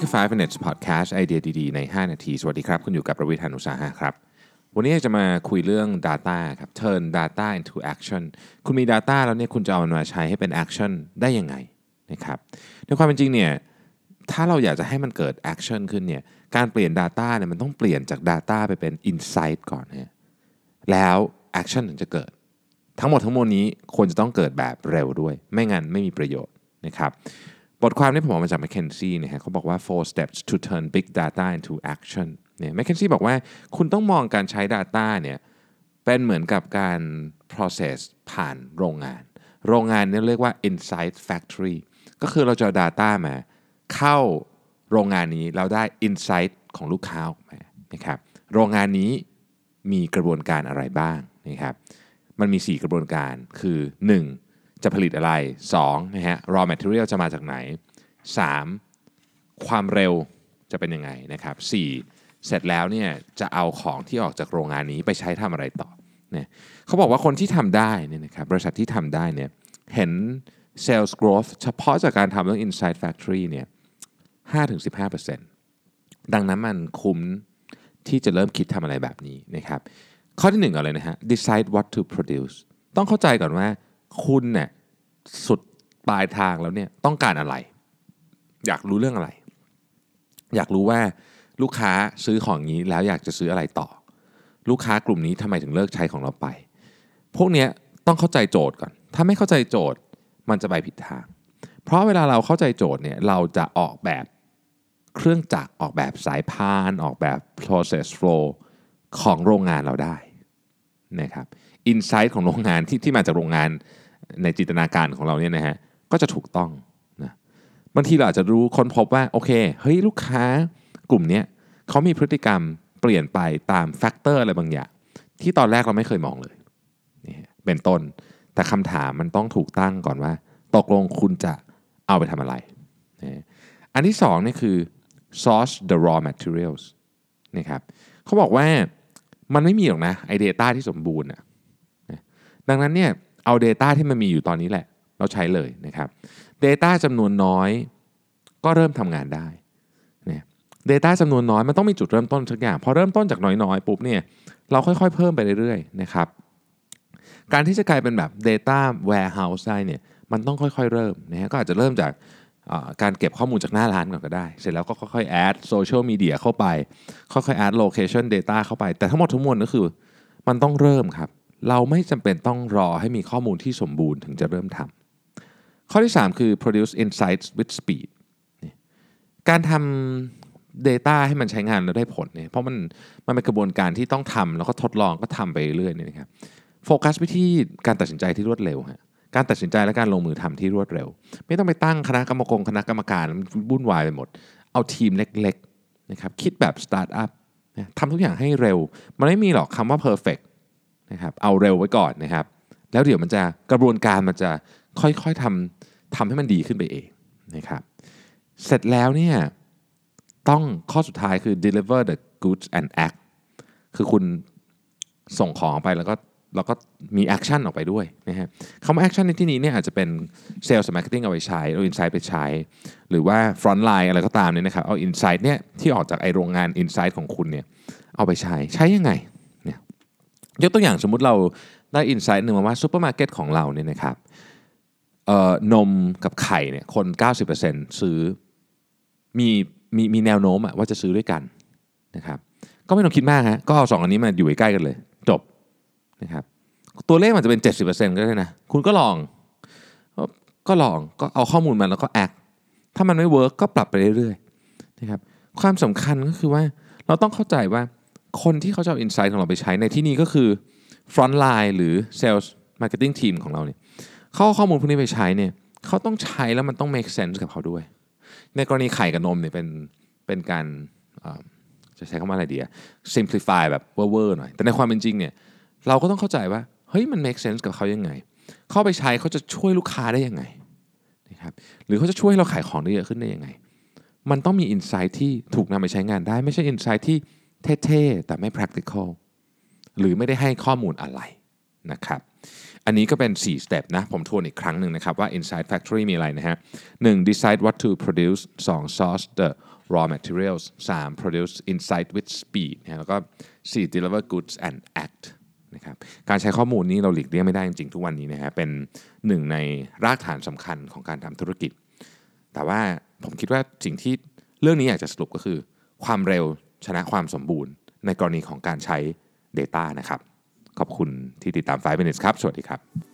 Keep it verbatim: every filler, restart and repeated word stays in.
คือไฟว์ minutes podcast ไอเดียดีๆในห้านาทีสวัสดีครับคุณอยู่กับประวิทย์ หาญอุตสาหะครับวันนี้จะมาคุยเรื่อง data ครับ turn data into action คุณมี data แล้วเนี่ยคุณจะเอามันมาใช้ให้เป็น action ได้ยังไงนะครับในความเป็นจริงเนี่ยถ้าเราอยากจะให้มันเกิด action ขึ้นเนี่ยการเปลี่ยน data เนี่ยมันต้องเปลี่ยนจาก data ไปเป็น insight ก่อนนะแล้ว action ถึงจะเกิดทั้งหมดทั้งมวลนี้ควรจะต้องเกิดแบบเร็วด้วยไม่งั้นไม่มีประโยชน์นะครับบทความนี้ผมเอามาจาก McKinsey นะฮะเขาบอกว่า four steps to turn big data into action เนี่ย McKinsey บอกว่าคุณต้องมองการใช้ data เนี่ยเป็นเหมือนกับการ process ผ่านโรงงานโรงงานเนี่ยเรียกว่า insight factory ก็คือเราจะเอา data มาเข้าโรงงานนี้เราได้ insight ของลูกค้าออกมานะครับโรงงานนี้มีกระบวนการอะไรบ้างนะครับมันมีสี่กระบวนการคือหนึ่งจะผลิตอะไรสองนะฮะ raw material จะมาจากไหนสามความเร็วจะเป็นยังไงนะครับสี่เสร็จแล้วเนี่ยจะเอาของที่ออกจากโรงงานนี้ไปใช้ทำอะไรต่อเนี่ยเขาบอกว่าคนที่ทำได้เนี่ยนะครับบริษัทที่ทำได้เนี่ยเห็น sales growth เฉพาะจากการทำเรื่อง Inside Factory เนี่ย ห้าถึงสิบห้าเปอร์เซ็นต์ ดังนั้นมันคุ้มที่จะเริ่มคิดทำอะไรแบบนี้นะครับข้อที่หนึ่งก่อนเลยนะฮะ decide what to produce ต้องเข้าใจก่อนว่าคุณเนี่ยสุดปลายทางแล้วเนี่ยต้องการอะไรอยากรู้เรื่องอะไรอยากรู้ว่าลูกค้าซื้อของนี้แล้วอยากจะซื้ออะไรต่อลูกค้ากลุ่มนี้ทำไมถึงเลิกใช้ของเราไปพวกนี้ต้องเข้าใจโจทย์ก่อนถ้าไม่เข้าใจโจทย์มันจะไปผิดทางเพราะเวลาเราเข้าใจโจทย์เนี่ยเราจะออกแบบเครื่องจักรออกแบบสายพานออกแบบ process flow ของโรงงานเราได้นะครับ insight ของโรงงานที่ที่มาจากโรงงานในจินตนาการของเราเนี่ยนะฮะก็จะถูกต้องนะบางทีเราอาจจะรู้ค้นพบว่าโอเคเฮ้ยลูกค้ากลุ่มนี้เขามีพฤติกรรมเปลี่ยนไปตามแฟกเตอร์อะไรบางอย่างที่ตอนแรกเราไม่เคยมองเลยนี่เป็นต้นแต่คำถามมันต้องถูกตั้งก่อนว่าตกลงคุณจะเอาไปทำอะไรนะอันที่สองนี่คือ source the raw materials นะครับเขาบอกว่ามันไม่มีหรอกนะไอ้ data ที่สมบูรณ์นะดังนั้นเนี่ยเอา data ที่มันมีอยู่ตอนนี้แหละเราใช้เลยนะครับ data จำนวนน้อยก็เริ่มทำงานได้เนี่ย data จำนวนน้อยมันต้องมีจุดเริ่มต้นสักอย่างพอเริ่มต้นจากน้อยๆปุ๊บเนี่ยเราค่อยๆเพิ่มไปเรื่อยๆนะครับการที่จะกลายเป็นแบบ data warehouse ได้เนี่ยมันต้องค่อยๆเริ่มนะฮะก็อาจจะเริ่มจากการเก็บข้อมูลจากหน้าร้านก่อนก็ได้เสร็จแล้วก็ค่อยๆ add social media เข้าไปค่อยๆ add location data เข้าไปแต่ทั้งหมดทั้งมวลก็คือมันต้องเริ่มครับเราไม่จำเป็นต้องรอให้มีข้อมูลที่สมบูรณ์ถึงจะเริ่มทำข้อที่สามคือ produce insights with speed การทำ data ให้มันใช้งานแล้วได้ผลเนี่ยเพราะมันมันเป็นกระบวนการที่ต้องทำแล้วก็ทดลองก็ทำไปเรื่อยๆเนี่ยนะครับโฟกัสไปที่การตัดสินใจที่รวดเร็วฮะการตัดสินใจและการลงมือทำที่รวดเร็วไม่ต้องไปตั้งคณะกรรมการคณะกรรมการวุ่นวายไปหมดเอาทีมเล็กๆนะครับคิดแบบสตาร์ทอัพทำทุกอย่างให้เร็วมันไม่มีหรอกคำว่า perfect นะครับเอาเร็วไว้ก่อนนะครับแล้วเดี๋ยวมันจะกระบวนการมันจะค่อยๆทำทำให้มันดีขึ้นไปเองนะครับเสร็จแล้วเนี่ยต้องข้อสุดท้ายคือ deliver the goods and act คือคุณส่งของไปแล้วก็แล้วก็มีแอคชั่นออกไปด้วยนะฮะคำว่าแอคชั่นในที่นี้เนี่ยอาจจะเป็นเซลล์มาร์เก็ตติ้งเอาไปใช้เอาอินไซต์ไปใช้หรือว่าฟรอนต์ไลน์อะไรก็ตามเนี่ยนะครับเอาอินไซต์เนี่ยที่ออกจากไอโรงงานอินไซต์ของคุณเนี่ยเอาไปใช้ใช้ยังไงเนี่ยยกตัวอย่างสมมุติเราได้อินไซต์หนึ่งมาว่าซูเปอร์มาร์เก็ตของเราเนี่ยนะครับเอ่อนมกับไข่เนี่ยคน เก้าสิบเปอร์เซ็นต์ ซื้อมีมีมีแนวโน้มว่าจะซื้อด้วยกันนะครับก็ไม่ต้องคิดมากฮะก็เอาสองอันนี้มาอยู่ใกล้กันเลยจบนะครับตัวเลขมันจะเป็น เจ็ดสิบเปอร์เซ็นต์ ก็ได้นะคุณก็ลองก็ลองก็เอาข้อมูลมาแล้วก็แอคถ้ามันไม่เวิร์กก็ปรับไปเรื่อยๆนะครับความสำคัญก็คือว่าเราต้องเข้าใจว่าคนที่เขาจะเอาอินไซต์ของเราไปใช้ในที่นี้ก็คือฟรอนต์ไลน์หรือเซลส์มาร์เก็ตติ้งทีมของเราเนี่ยเขาเอาข้อมูลพวกนี้ไปใช้เนี่ยเขาต้องใช้แล้วมันต้อง make sense กับเขาด้วยในกรณีไข่กับนมเนี่ยเป็นเป็นการจะใช้คำว่าอะไรดีอะ simplify แบบเวอร์ๆหน่อยแต่ในความเป็นจริงเนี่ยเราก็ต้องเข้าใจว่าเฮ้ยมัน make sense กับเขายังไงเข้าไปใช้เขาจะช่วยลูกค้าได้ยังไงนะครับหรือเขาจะช่วยเราขายของได้เยอะขึ้นได้ยังไงมันต้องมี insight ที่ถูกนำไปใช้งานได้ไม่ใช่ insight ที่เท่ๆแต่ไม่ practical หรือไม่ได้ให้ข้อมูลอะไรนะครับอันนี้ก็เป็นสี่ step นะผมทวนอีกครั้งหนึ่งนะครับว่า Inside Factory มีอะไรนะฮะหนึ่ง decide what to produce สอง source the raw materials สาม produce insight with speed นะแล้วก็สี่ deliver goods and act นะครับการใช้ข้อมูลนี้เราหลีกเลี่ยงไม่ได้จริงๆทุกวันนี้นะฮะเป็นหนึ่งในรากฐานสำคัญของการทำธุรกิจแต่ว่าผมคิดว่าสิ่งที่เรื่องนี้อยากจะสรุปก็คือความเร็วชนะความสมบูรณ์ในกรณีของการใช้ data นะครับขอบคุณที่ติดตามไฟว์ minutes ครับสวัสดีครับ